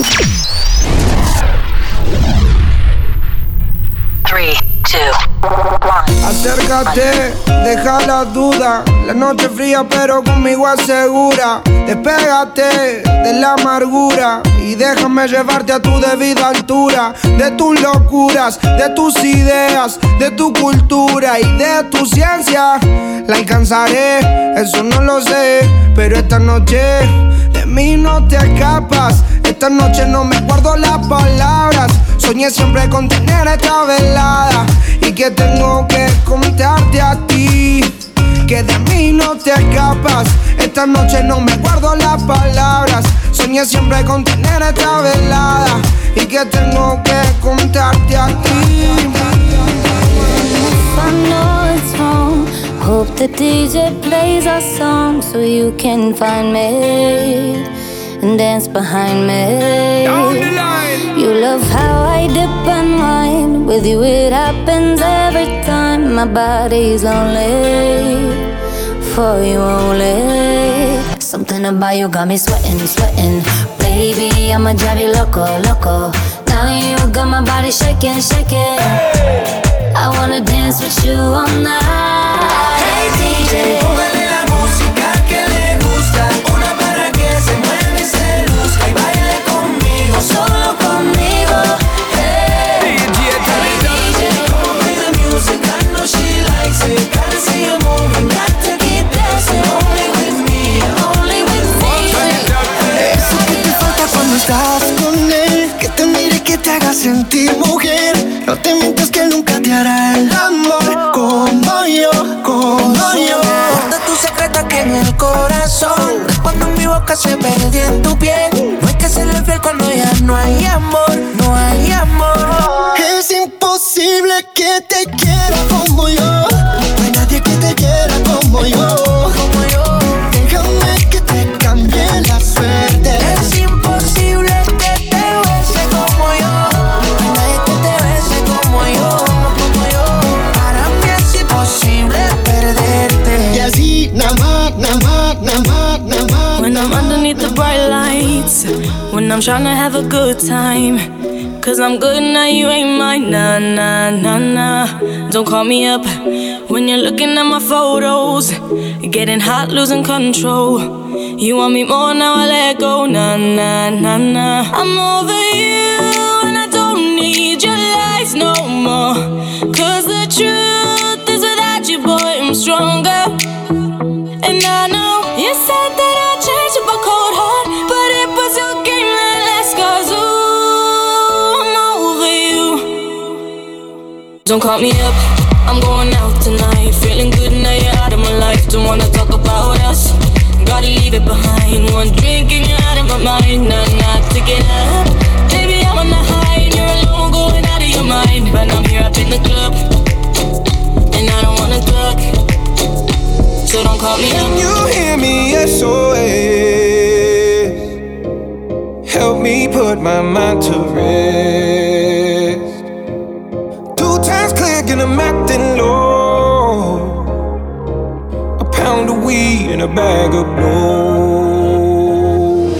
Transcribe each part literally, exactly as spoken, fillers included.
three, two, one. Acércate, deja la duda. La noche fría pero conmigo es segura. Despégate de la amargura y déjame llevarte a tu debida altura. De tus locuras, de tus ideas, de tu cultura y de tu ciencia. La alcanzaré, eso no lo sé, pero esta noche de mí no te escapas. Esta noche no me guardo las palabras. Soñé siempre con tener esta velada y que tengo que contarte a ti, que de mí no te escapas. Esta noche no me guardo las palabras. Soñé siempre con tener esta velada y que tengo que contarte a ti. I know it's wrong. Hope the D J plays our song so you can find me and dance behind me. Down the line. You love how I dip and wine. With you it happens every time. My body's lonely, for you only. Something about you got me sweating, sweating. Baby, I'ma drive you loco, loco. Now you got my body shaking, shaking. I wanna dance with you all night. Hey D J, póngale la música que le gusta. Una para que se mueva y se luzca y baile conmigo, solo conmigo. Hey, D J, hey D J, play the music, I know she likes it. Gotta see you moving, got to keep dancing. Only with me, only with me. Eso que te falta cuando estás con él, que te mire, que te haga sentir mujer. No te mientas que nunca te hará el amor como yo, como yo. Guarda tu secreto aquí en el corazón. Cuando mi boca se perdió en tu piel. No hay que serle fiel cuando ya no hay amor, no hay amor. Es imposible que te quiera como yo. No hay nadie que te quiera como yo, como yo. Déjame que te cambie la suerte. Es imposible que te bese como yo. No hay nadie que te bese como yo, como yo. Para mí es imposible perderte. Y así, nada más, nada más, nada más, nada más. When I'm underneath the bright lights, when I'm tryna have a good time, cause I'm good now, you ain't mine, nah, nah, nah, nah. Don't call me up when you're looking at my photos, getting hot, losing control. You want me more, now I let go, nah, nah, nah, nah. I'm over you and I don't need your lies no more, cause the truth is without you, boy, I'm stronger. And I know you said that I'd change up a cold heart, but it was your game that last, cause ooh, I'm over you. Don't call me up, I'm going out tonight. Feeling good now you're out of my life. Don't wanna talk about us, gotta leave it behind. One drink and you're out of my mind. Nah, nah, to get up. Baby, I'm on the high and you're alone, going out of your mind. But I'm here up in the club, and I don't wanna talk, so don't call me up. Can you hear me? S O S. Help me put my mind to rest. Two times click and I'm acting low. A pound of weed and a bag of blow.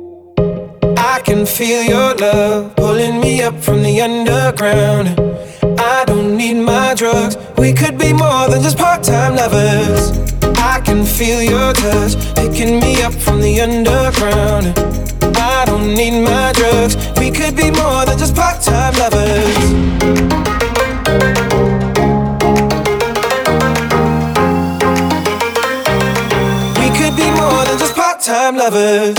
I can feel your love pulling me up from the underground. I don't need my drugs. We could be more than just part-time lovers. I can feel your touch picking me up from the underground. I don't need my drugs. We could be more than just part-time lovers. We could be more than just part-time lovers.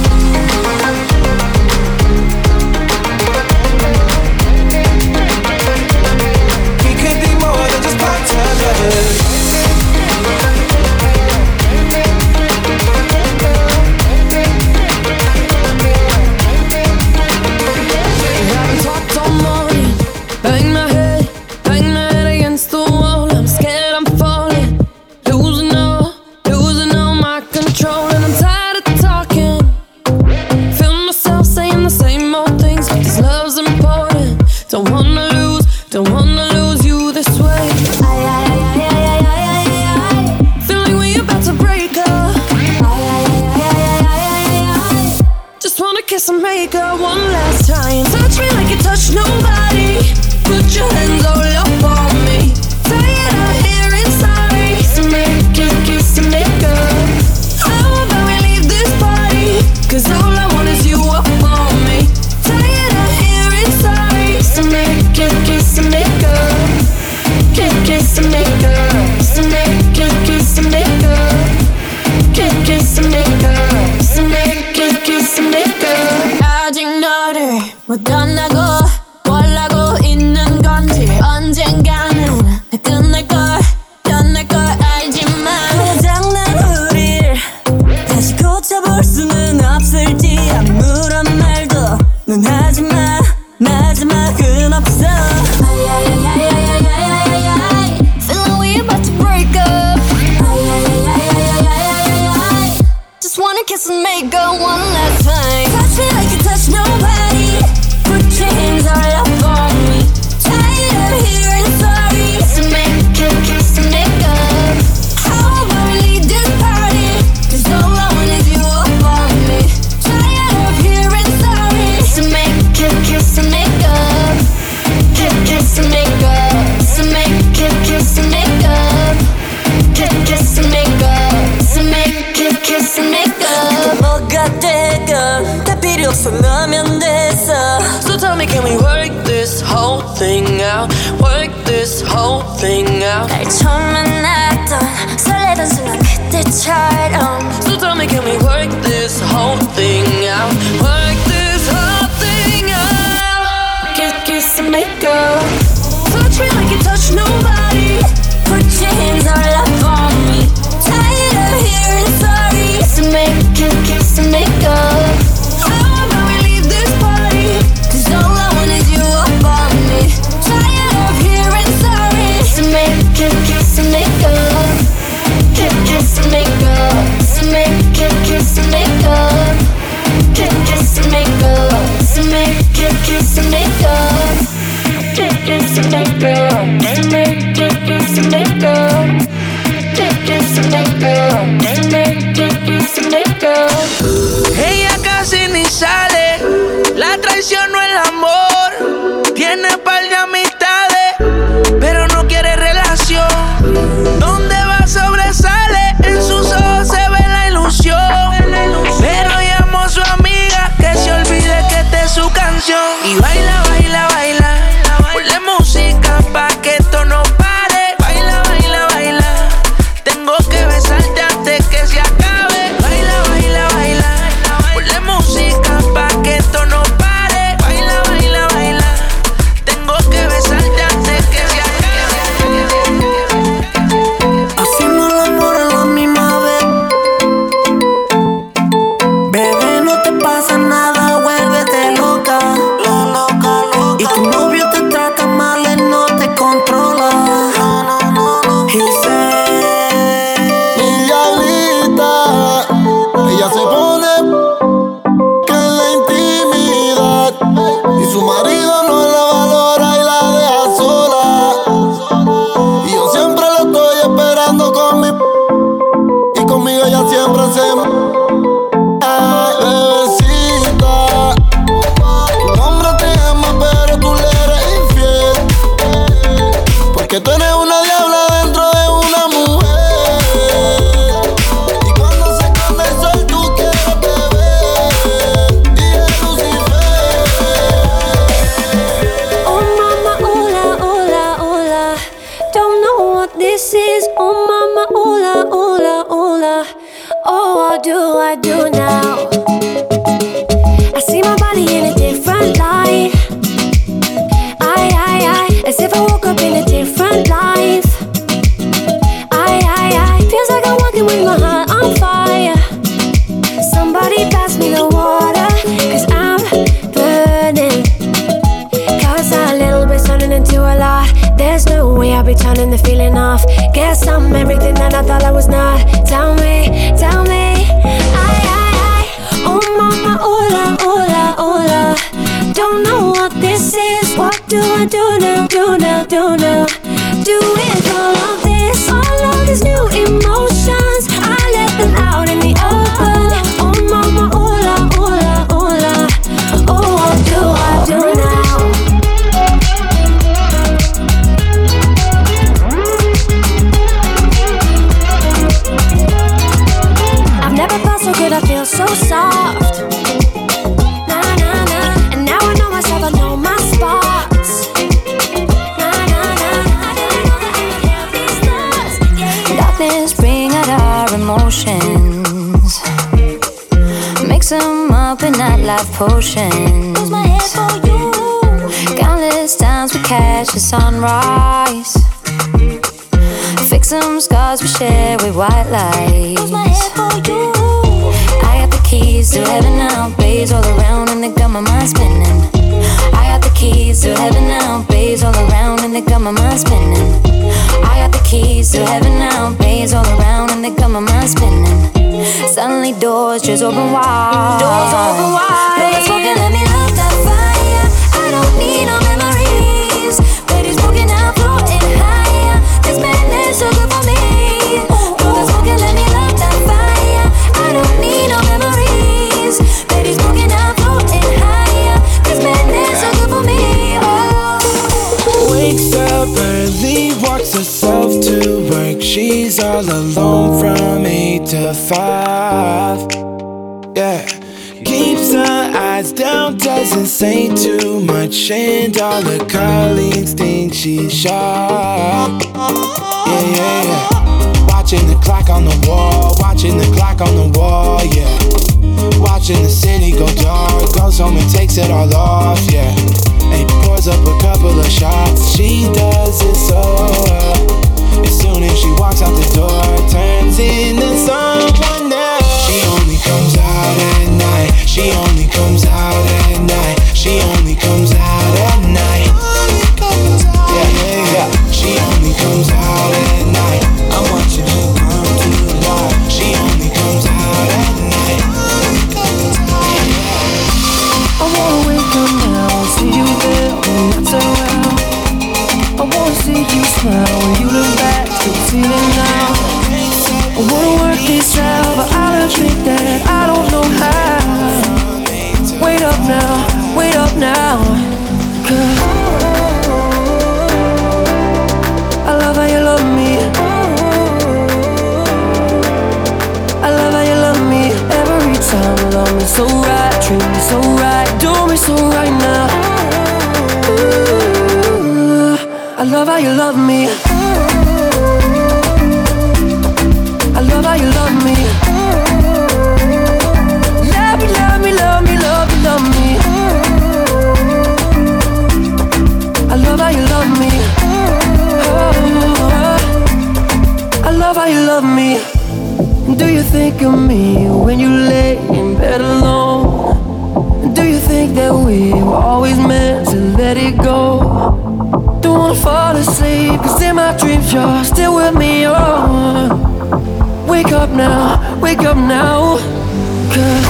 We could be more than just part-time lovers. Bang my head, bang my head against the wall. I'm scared I'm falling, losing all, losing all my control. And I'm tired of talking, one last time. Touch me like you touch nobody. Put your hands all up on me. Tired of hearing sorry. So make it kiss and make up. How about we leave this party? Cause all I want is you up on me. Tired of hearing sorry. So make it kiss and make up. Kiss, kiss and make up. So make it kiss and make up. Kiss, kiss and make up. So make it kiss and make up. 아직 너를 못 떠나고 원하고 있는 건지 언젠가는 끝날걸 끝날걸 알지만 고장난 우릴 다시 고쳐볼 수는 없을지 아무런 말도 넌 하지마 마지막은 없어. Feel like we about to break up. Just wanna kiss and make up one last time. Touch me like you touch nobody. Put your hands all up on me. Tired of hearing sorry. So make it kiss and make up. How about we leave this party? Cause all I want is you up on me. Tired of hearing sorry. So make it kiss and make up. Kiss, kiss and make up. So make it kiss and make up. Kiss, kiss and make up. So make it kiss and make up. 뭐가 되건 다 필요 없어 너면 됐어. So tell me, can we work this whole thing out? Work this whole thing out. 날 처음 만났던 설레던 순간 그때처럼. So tell me, can we work this whole thing out? Work this whole thing out. Kiss, kiss and make up. Touch me like you touch nobody. Put your hands all up on me. Tired of hearing sorry. So make it kiss and make up. How about we leave this party? Cause all I want is you up on me. Tired of hearing sorry. So make it kiss and make up. Kiss, kiss and make up. So make it kiss and make up. Kiss, kiss and make up. So make it kiss and make up. Kiss, kiss and make up. Make it kiss and make up. Kiss, kiss and make up. Make it kiss and make up. Ella casi ni sale, la traición no el amor. Tiene par de amistades, pero no quiere relación. Donde va sobresale, en sus ojos se ve la ilusión. Pero llamó a su amiga que se olvide que esta es su canción. Y baila, baila, baila, ponle música pa' que esto no pare. Baila, baila, baila, tengo que besarte antes que se acabe. Baila, baila, baila, ponle música pa' que esto no pare. Baila, baila, baila, tengo que besarte antes que se acabe. Hacemos el amor a la misma vez. Bebé, no te pasa nada, vuélvete loca. La loca, loca. Y tu novio te trata mal, él no te controla. No, no, no, no. He said, Mi diablita, ella se pone que en la intimidad y su marido no la valora y la deja sola. Y yo siempre la estoy esperando con mi y conmigo ella siempre se Ay, bebecita, tu hombre te ama pero tú le eres infiel, porque tú eres una diabla dentro de una mujer. Y cuando se esconde el sol tú quieres beber y es Lucifer. Oh mama, hola, hola, hola. Don't know what this is. Oh mama, hola, hola, hola. Oh, what do I do now? I see my body in a different light. I, I, I, as if I woke up in a different life. I, I, I, feels like I'm walking with my heart on fire. Somebody pass me the water, cause I'm burning. Cause a little bit's turning into a lot. There's no way I'll be turning the feeling off. Guess I'm everything that I thought I was not. Tell me, tell me. I, I, I, oh mama, hola, hola, hola. Don't know what this is. What do I do now, do now, do now? Do with all of this, all of these new emotions. I let them out in the open. Oh mama, hola, hola, hola. Oh, of potions. Use my head for you. Countless times we catch the sunrise. Fix some scars we share with white lights. Use my head for you. I got the keys to heaven now. Bays all around and they got my mind spinning. I got the keys to heaven now. Bays all around and they got my mind spinning. I got the keys to heaven now. Bays all around and they got my mind spinning. Suddenly doors just open wide. Doors open wide. Baby, smoking, let me love that fire. I don't need no memories. Baby, smoking, I'm floating higher. This madness so good for me. Baby, smoking, let me love that fire. I don't need no memories. Baby, smoking, I'm floating higher. This madness so good for me. Oh. Wakes up early, walks herself to work. She's all alone from eight to five. Yeah, keeps her eyes down, doesn't say too much, and all her colleagues think she's sharp. Yeah, yeah, yeah. Watching the clock on the wall, watching the clock on the wall, yeah. Watching the city go dark, goes home and takes it all off, yeah. And pours up a couple of shots, she does it so well. As soon as she walks out the door, turns into someone else. She only comes out at night. She only comes out at night. She only comes out at night. Yeah, yeah, yeah. She only comes out at night. I'm watching her come to life. She only comes out at night. I wanna wake up now, see you there when I turn around. I wanna see you smile when you look back, still feeling now. I wanna work this out, but I'll admit that I don't know how. Wait up now, wait up now, 'cause I love how you love me. I love how you love me every time. Love me so right, treat me so right, do me so right now. Ooh, I love how you love me. I love how you love me. Love me, love me, love me, love me, love me. I love how you love me. Oh, I love how you love me. Do you think of me when you lay in bed alone? Do you think that we were always meant to let it go? Don't wanna fall asleep, 'cause in my dreams you're still with me, oh. Wake up now, wake up now, 'cause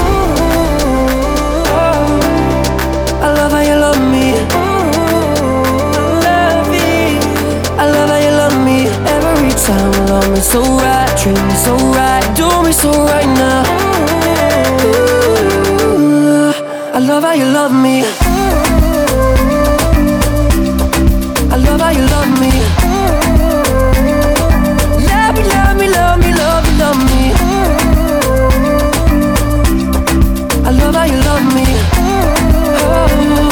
oh, I love how you love me. Love me. I love how you love me every time. Love me so right, treat me so right, do me so right now. Ooh, I love how you love me. I love how you love me. Love me, love me, love me, love me, love me. I love how you love me. Oh,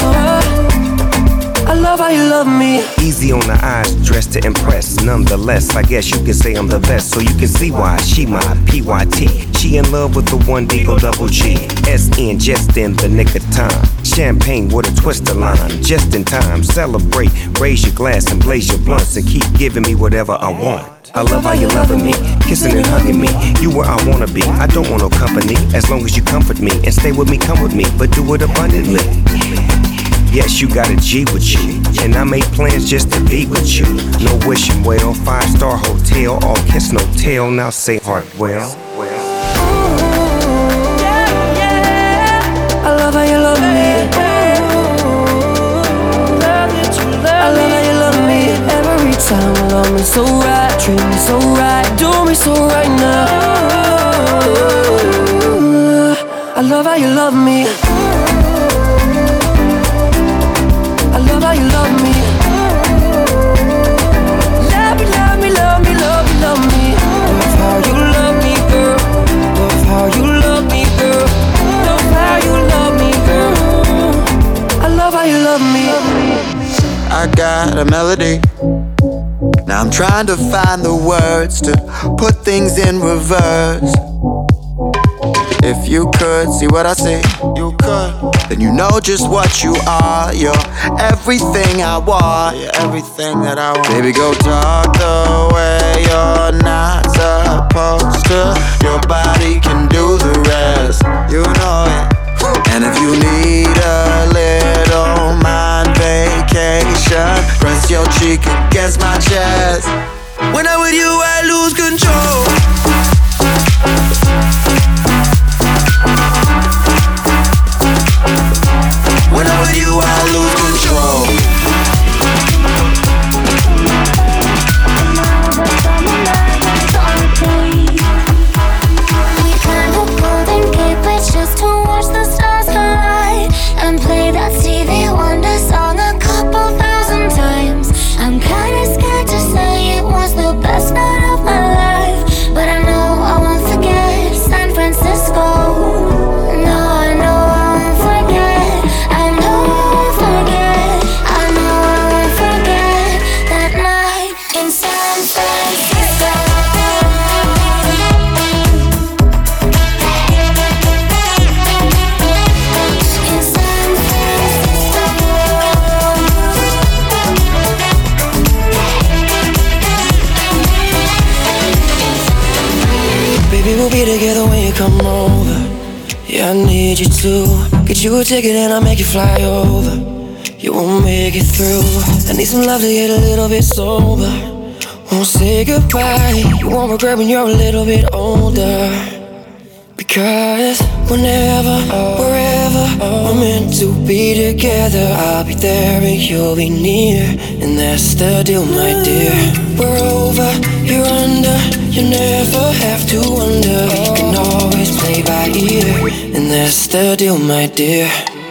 I love how you love me. Easy on the eyes, dressed to impress. Nonetheless, I guess you can say I'm the best. So you can see why she my P Y T. She in love with the one D O double G. S N just in the nick of time. Champagne with a twist of lime. Just in time, celebrate. Raise your glass and blaze your blunts. And keep giving me whatever I want. I love how you loving me, kissing and hugging me. You where I wanna be, I don't want no company. As long as you comfort me and stay with me, come with me. But do it abundantly. Yes, you got a G with you, and I make plans just to be with you. No wishing well, five-star hotel, all kiss, no tell. Now say heart well. Yeah, yeah. I love how you love me. I love how you love me every time. Love me so right, treat me so right, do me so right now. Ooh, I love how you love me. I love how you love me. Love me, love me, love me, love me, love me. Love how you love me, girl. Love how you love me, girl. Love how you love me, girl. I love how you love me. I got a melody. Now I'm trying to find the words to put things in reverse. If you could see what I see, you could. Then you know just what you are. You're everything I want. You're everything that I want. Baby, go talk the way you're not supposed to. Your body can do the rest. You know it. And if you need a little mind vacation, press your cheek against my chest. When I'm with you, I lose control. When I'm with you, I lose control. We climb the Golden Gate Bridge just to watch the stars collide and play that Stevie Wonder song a couple thousand times. I'm kinda scared to say it was the best night of my life, but I know I won't forget San Francisco. No, I know I won't forget. I know I won't forget. I know I won't forget that night in San Francisco. In San Francisco. Baby, we'll be together when you come over. Yeah, I need you to get you a ticket and I'll make you fly over. You won't make it through. I need some love to get a little bit sober. Won't say goodbye. You won't regret when you're a little bit older. Because whenever, wherever we're meant to be together, I'll be there and you'll be near. And that's the deal, my dear. We're over, you're under. You never have to wonder. We can always play by ear. And that's the deal, my dear.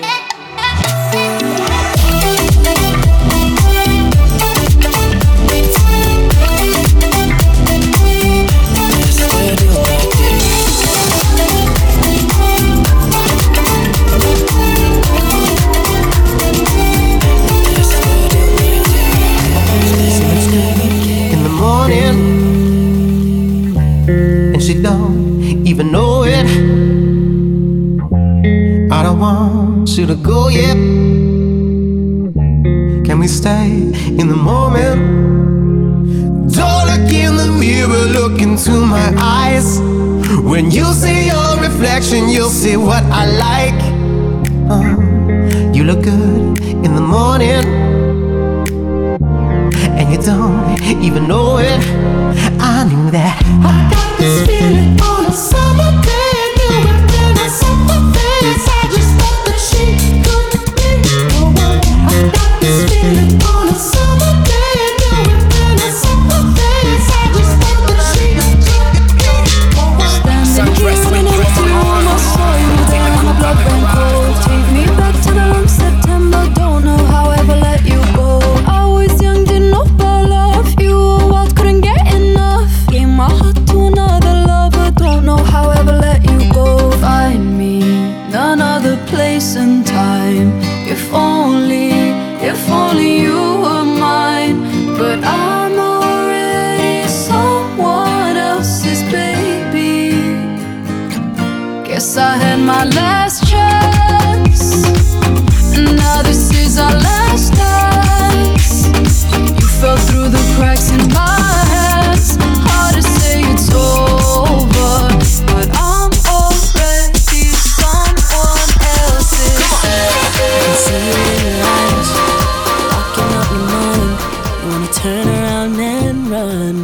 In the morning, and she don't even know it. I don't want you to go yet. Can we stay in the moment? Don't look in the mirror, look into my eyes. When you see your reflection, you'll see what I like. uh, You look good in the morning, and you don't even know it. I knew that. I got this feeling on a summer day, and you were in a summer face. I just thought that she could be the one. I got this feeling on a summer day, and you were in a summer face. I just thought that she could be the one. Standing here in a room, I saw you down, my blood ran cold. Take me back to the long September, don't know how I ever let you go. I was young, didn't know about love. You were wild, couldn't get enough. Gave my heart to another lover, don't know how I ever let you go. Find me none other place and time. If only, if only you were mine. But I'm already someone else's baby. Guess I had my last chance, and now this is our last dance. You fell through the cracks in my hands. Hard to say it's over, but I'm already someone else's. I can see it in your eyes, locking up your mind. You wanna turn around and run.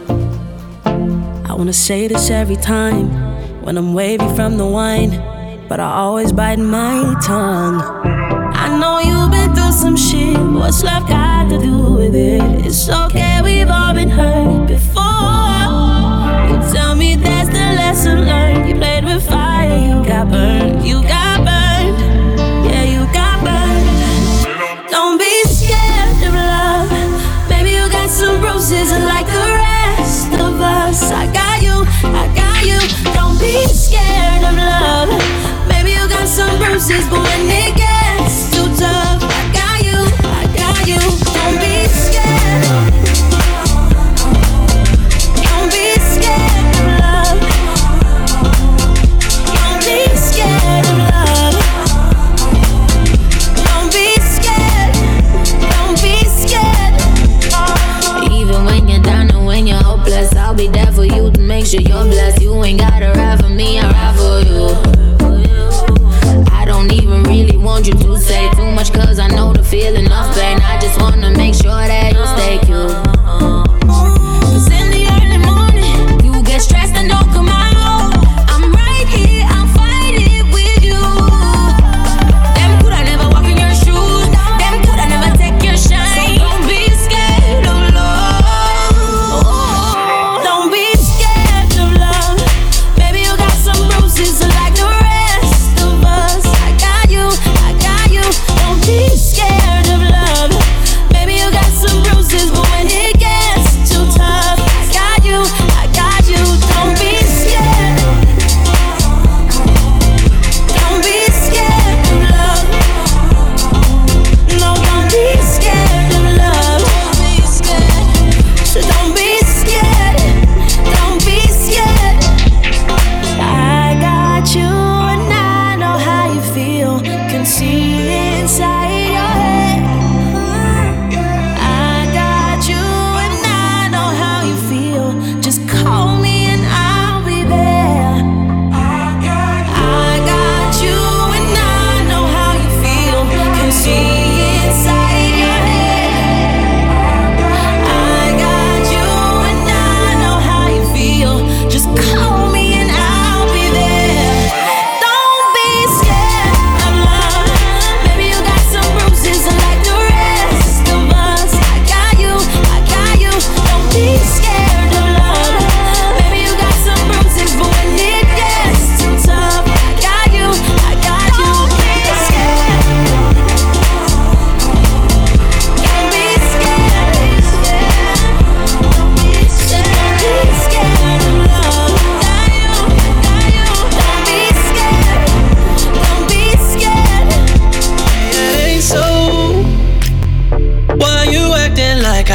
I wanna say this every time when I'm wavy from the wine, but I always bite my tongue. I know you've been through some shit. What's love got to do with it? It's okay, we've all been hurt before. You tell me that's the lesson learned. You played with fire, you got burned. You got burned, yeah, you got burned. Don't be scared of love. Maybe you got some bruises like the rest of us. I got you, I got you. Don't be scared of love. Maybe you got some bruises, but when it gets too tough, I got you, I got you. Don't be scared.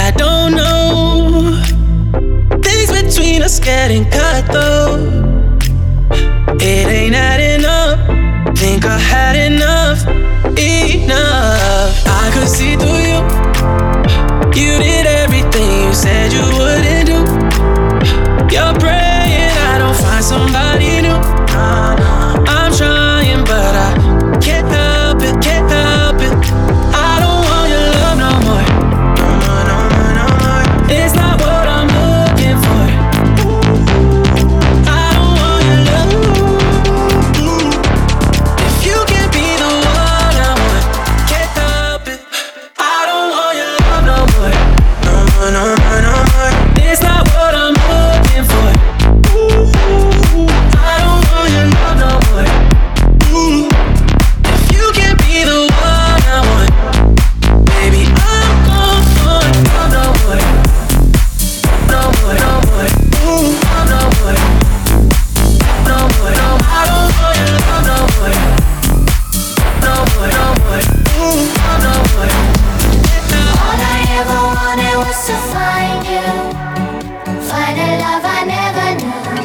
I don't know. Things between us getting cut though. It ain't adding up. Think I had enough, enough. I could see through you. You did everything you said you wouldn't do. You're praying I don't find somebody new. I'm trying but I can't help it, can't help it. I don't want your love no more. No more, no more, no more. It's not what I'm looking for. I don't want your love. If you can be the one I want, can't help it. I don't want your love no more. No more, no more, no more. It's not what I'm looking for. I don't want your love no more. If you can be the one I want, baby, I'm gone for love no more. No more, no more. Love no more. No more, no more. I don't want your love no more. No more, no more. Love no more. All I ever wanted was to find you, find a love I never knew.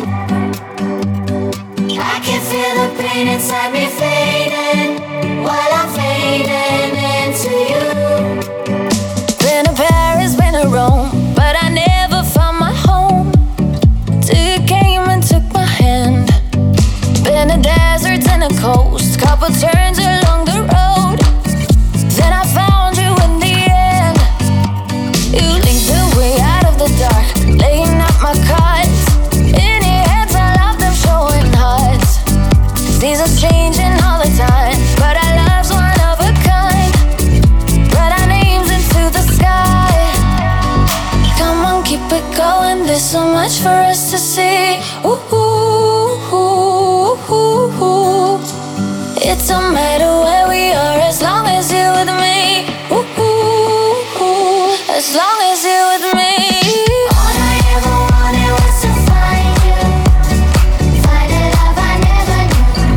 I can feel the pain inside me fading while I'm fading into you. Been to Paris, been to Rome, but I never found my home till you came and took my hand. Been to deserts and a coast, couple turns along the road. Then I found you in the end. You lead the way out of the dark, laying out my cards. In your hands, I love them showing hearts. Seasons changing all the time, but our love's one of a kind. Write our names into the sky. Come on, keep it going. There's so much for us to see. Ooh, ooh, ooh, ooh, ooh. It don't matter where we are as long as you're with me. Ooh, ooh, ooh. As long as you're with me. All I ever wanted was to find you, find a love I never knew.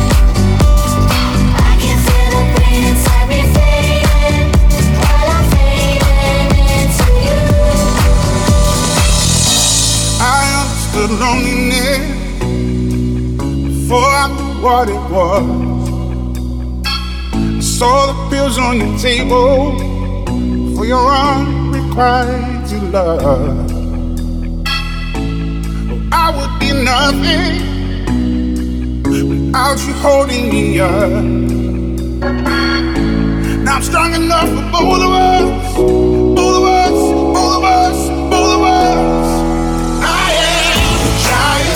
I can feel the pain inside me fading while I'm fading into you. I understood loneliness before I knew what it was. Saw the pills on your table for your unrequited love. I would be nothing without you holding me up. Now I'm strong enough for both of us, both of us, both of us, both of us. I am a giant.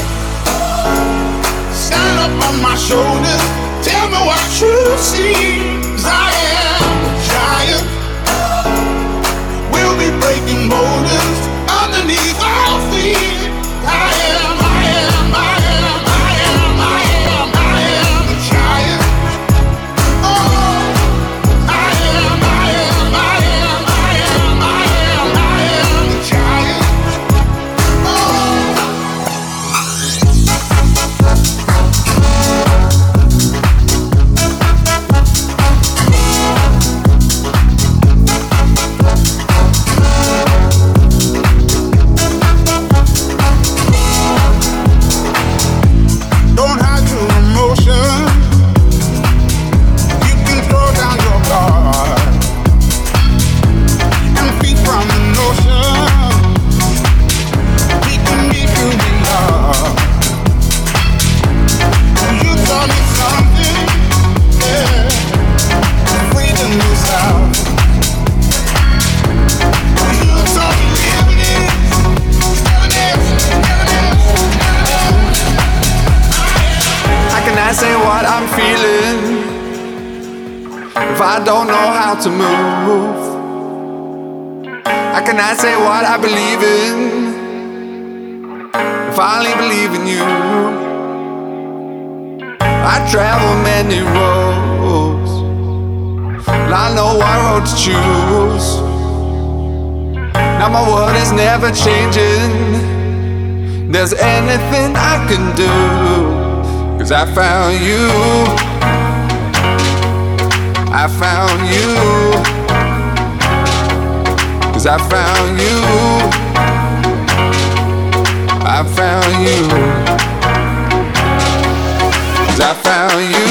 Stand up on my shoulders, tell me what you see. 'Cause I am a giant. We'll be breaking boulders underneath our feet. I am, I am, I am, I am, I am, I am a giant. Oh, I am, I am, I am, I am, I am, I am a giant. Don't hide your emotion. You can throw down your guard and feed from the notion. We can meet who we are. You taught me something, yeah. Freedom is out. You taught me evidence, evidence, evidence, evidence. How can I say what I'm feeling if I don't know how to move? How can I say what I believe in if I only believe in you? I travel many roads, and I know what road to choose. Now my world is never changing. There's anything I can do, 'cause I found you. I found you. 'Cause I found you. I found you. 'Cause I found you.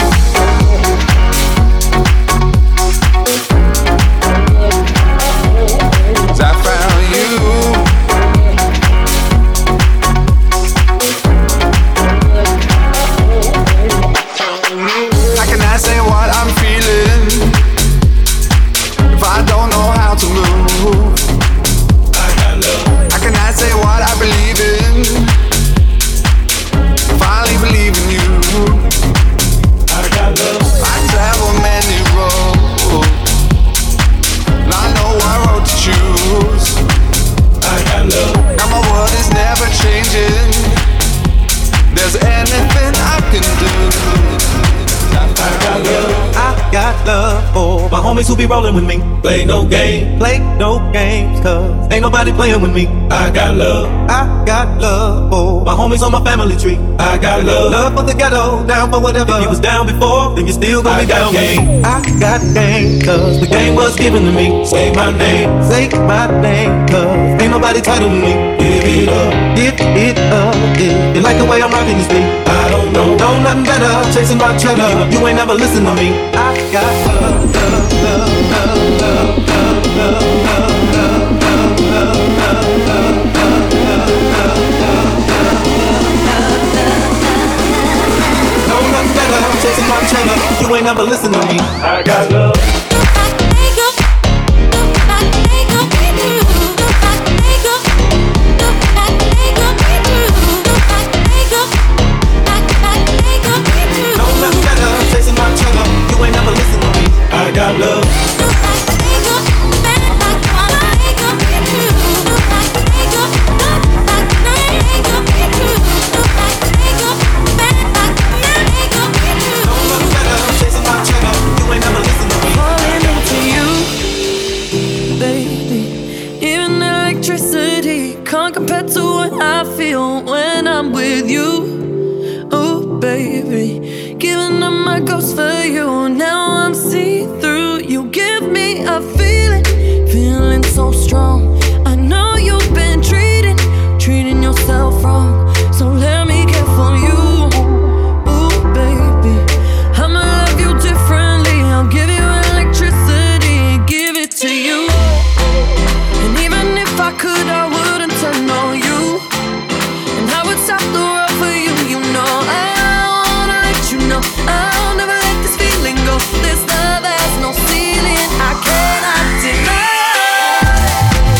Homies who be rolling with me. Play no game, play no games, cause ain't nobody playing with me. I got love, I got love for my homies on my family tree. I got love, love for the ghetto, down for whatever. If you was down before, then you still gonna be down. Game. I got game, cause the game was given to me. Say my name, say my name, cause ain't nobody tighter than me. Give it up, give it up, yeah. You like the way I'm rocking this beat? I don't know, know nothing better, chasing my cheddar. You ain't never listen to me. I got love, love, love, love, love, love, love, love, love, love, know nothing better, chasing my cheddar. You ain't never listen to me. I got love. You ain't never listen to me. I got love. Falling into you, baby. Even electricity can't compare to what I feel when I'm with you. Oh, baby. Giving up my ghost for you. Now I'm see-through. You give me a feeling, feeling so strong. I know you've been treating, treating yourself wrong. So let me care for you. Ooh, baby, I'ma love you differently. I'll give you electricity, give it to you. And even if I could, I wouldn't turn on you. And I would stop the world for you, you know. I No, I'll never let this feeling go. This love has no ceiling. I cannot deny.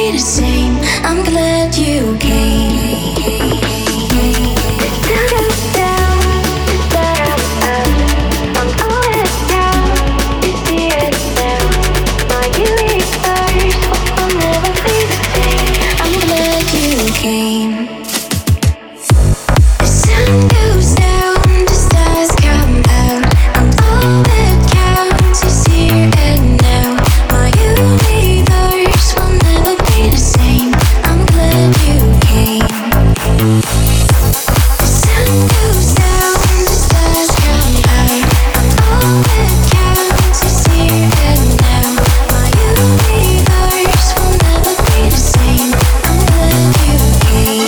be the same. I'm glad you came. The sun goes down, the stars up. I'm always down to see it now. My universe will never be the same. I'm glad you came. The sun goes down, the stars come out. I'm all that counts is here and now. My universe will never be the same. I'm glad you came. The sun goes down, the stars come out. I'm all that counts is here and now. My universe will never be the same. I'm glad you came.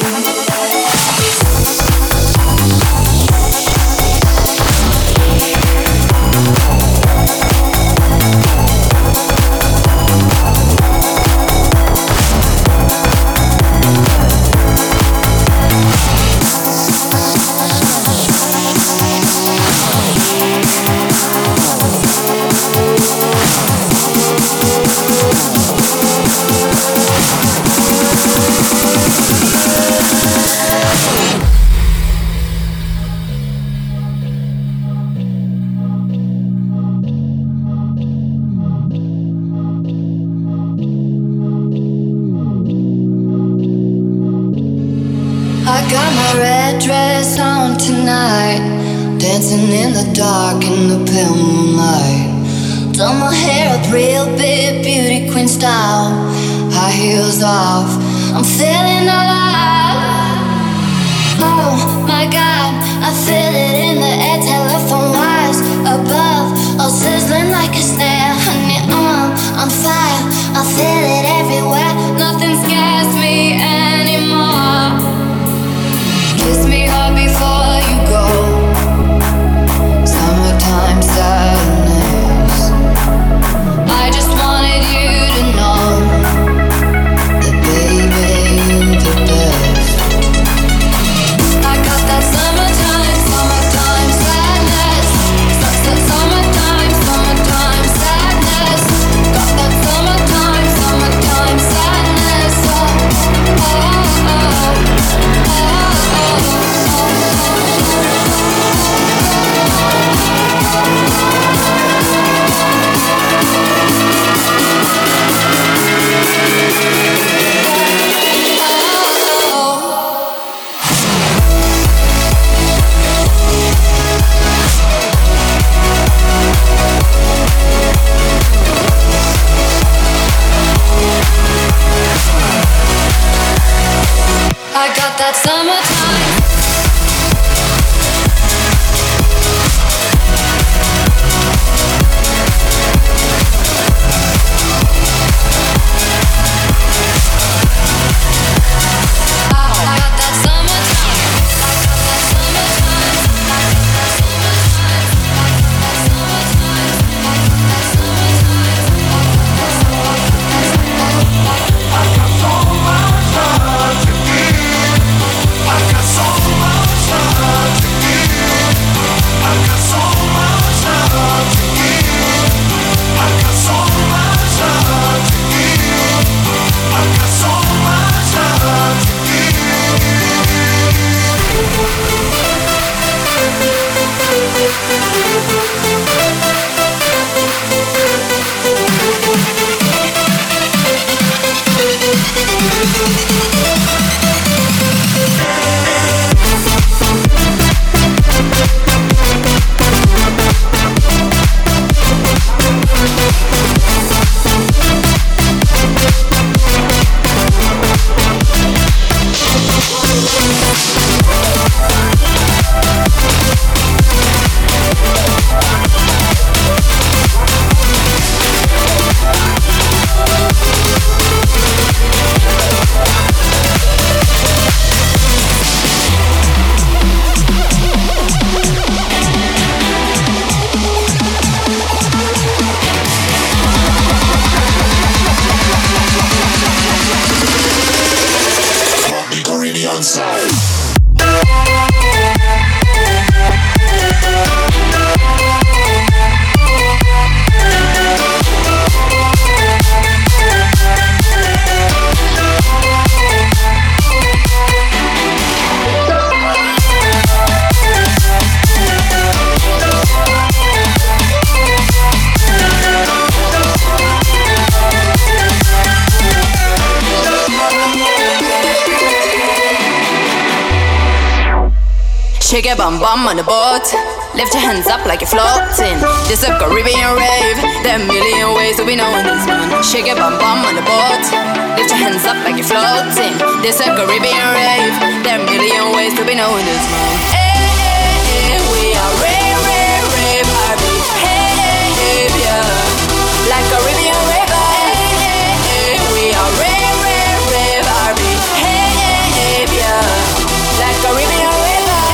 I got my red dress on tonight, dancing in the dark in the pale moonlight. Done my hair up real big, beauty queen style. High heels off, I'm feeling alive. Oh my God, I feel it in the air, telephone wires above, all sizzling like a snare. Honey, I'm on fire, I feel it everywhere. Nothing scares me anymore. Kiss me hard before you go. Summertime sadness. I just wanted you to know that baby, you're the best. I got that summertime, summertime sadness. Summertime, summertime sadness. Got that summertime, summertime sadness. Oh, oh, oh. I got that summertime. Shake your bum bum on the boat. Lift your hands up like you're floating. This a Caribbean rave. There are a million ways that we know in this one. Shake your bum bum on the boat. Lift your hands up like you're floating. This a Caribbean rave. There are a million ways that we know in this one. Hey, hey, hey, we are rave, rave, rave, R B. Hey, hey, hey, yeah. Like Caribbean rave. Hey, hey, hey, we are rave, rave, rave, R B. Hey, hey, hey, yeah. Like Caribbean rave.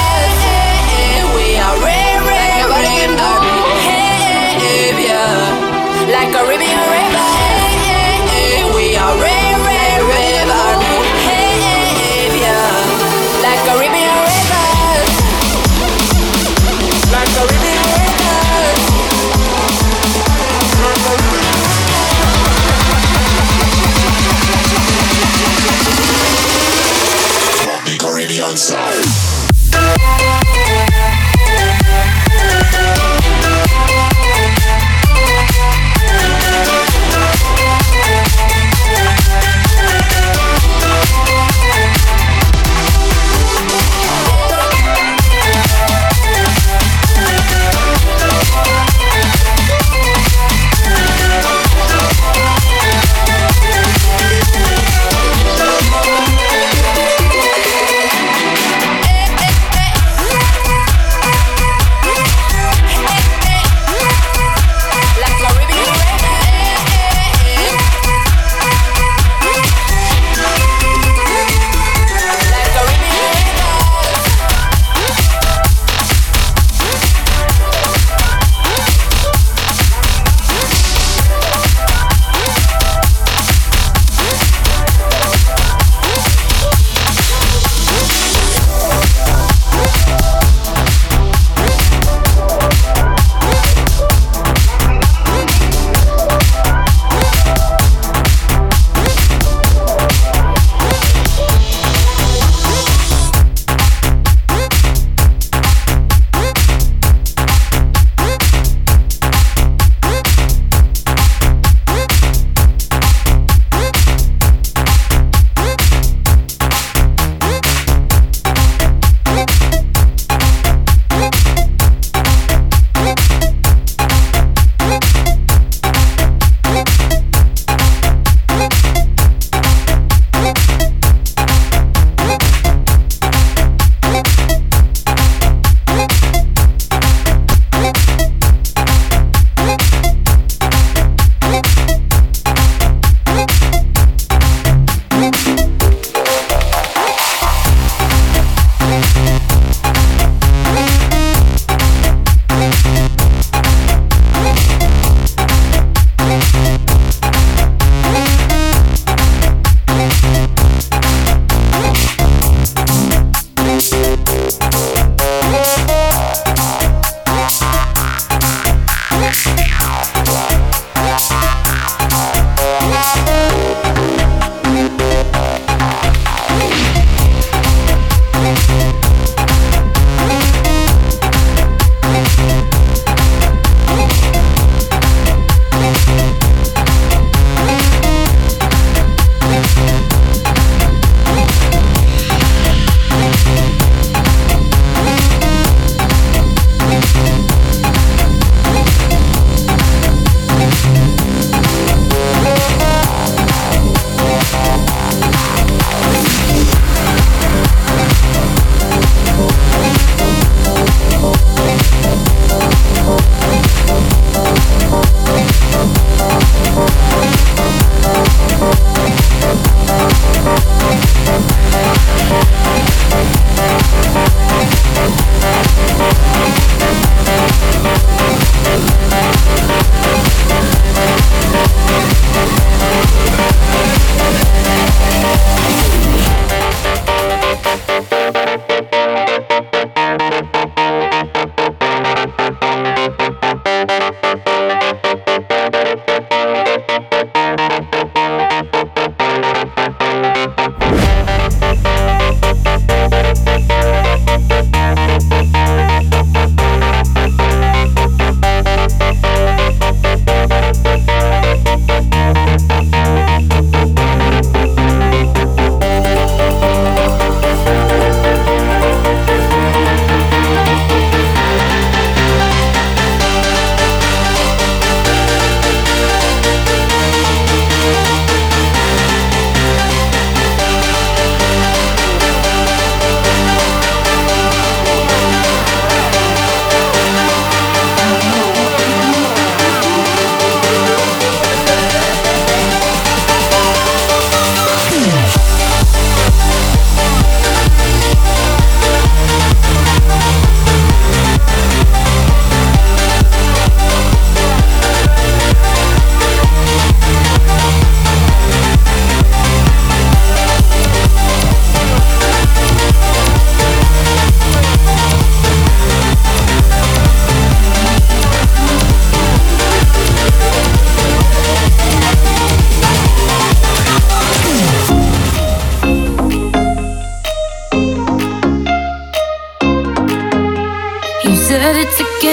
Like Caribbean river, hey, hey, hey, we are rave, rave, rave, army. Hey, hey, hey, yeah. Like Caribbean river, like Caribbean river, like Caribbean sound. Hey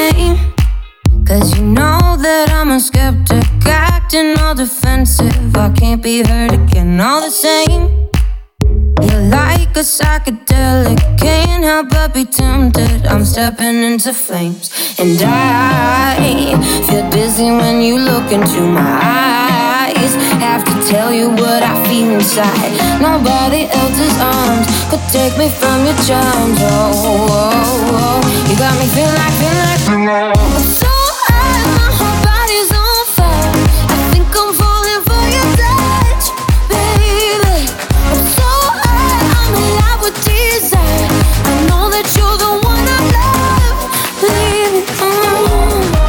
same. Cause you know that I'm a skeptic, acting all defensive. I can't be hurt again, all the same. You're like a psychedelic, can't help but be tempted. I'm stepping into flames, and I feel dizzy when you look into my eyes. Have to tell you what I feel inside. Nobody else's arms could take me from your charms. Oh, oh, oh. You got me feeling like, feeling like, feeling like I'm so high, my whole body's on fire. I think I'm falling for your touch, baby. I'm so high, I'm alive with desire. I know that you're the one I love, baby. Mm.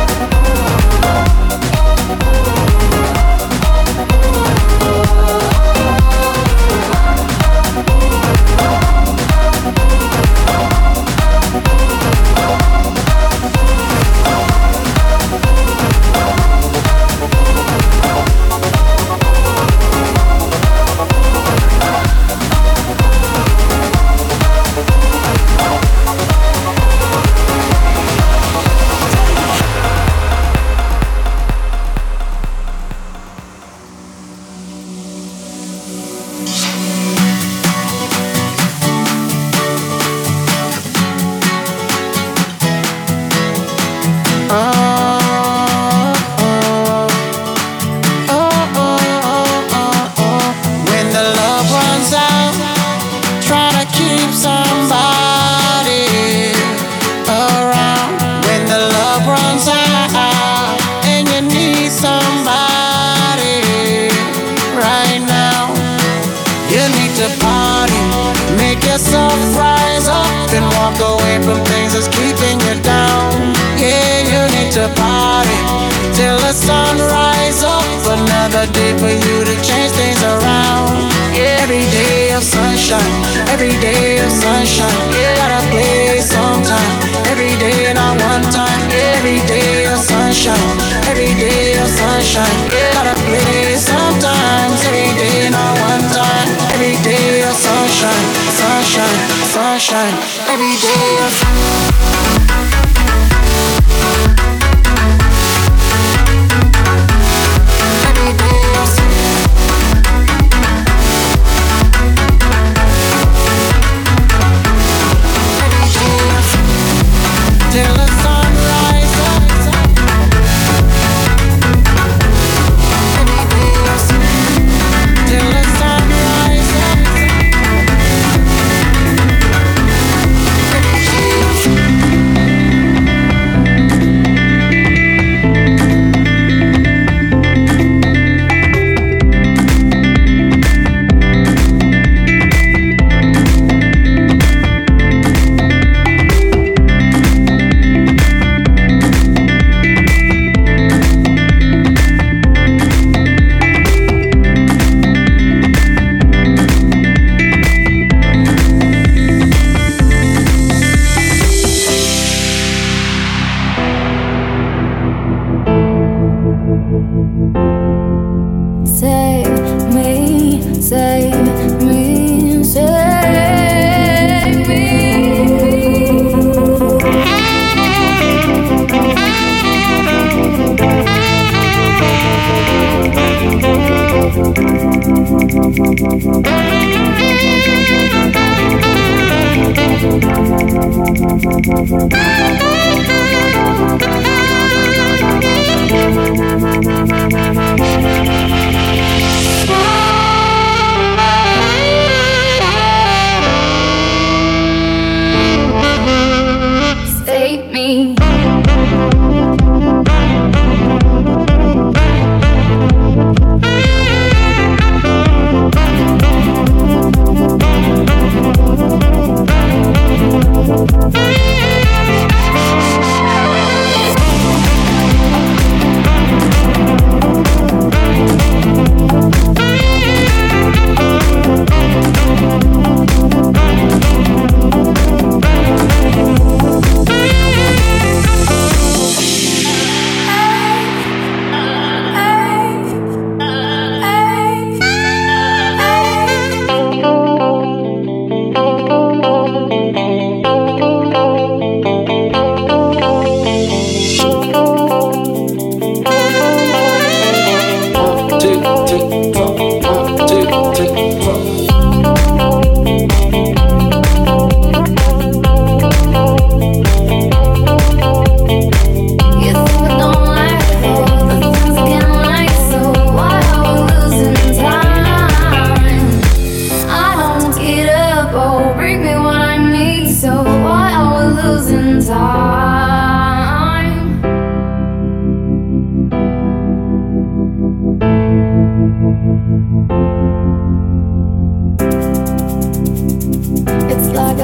Save me.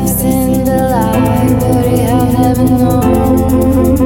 lost in the light, would he have never known?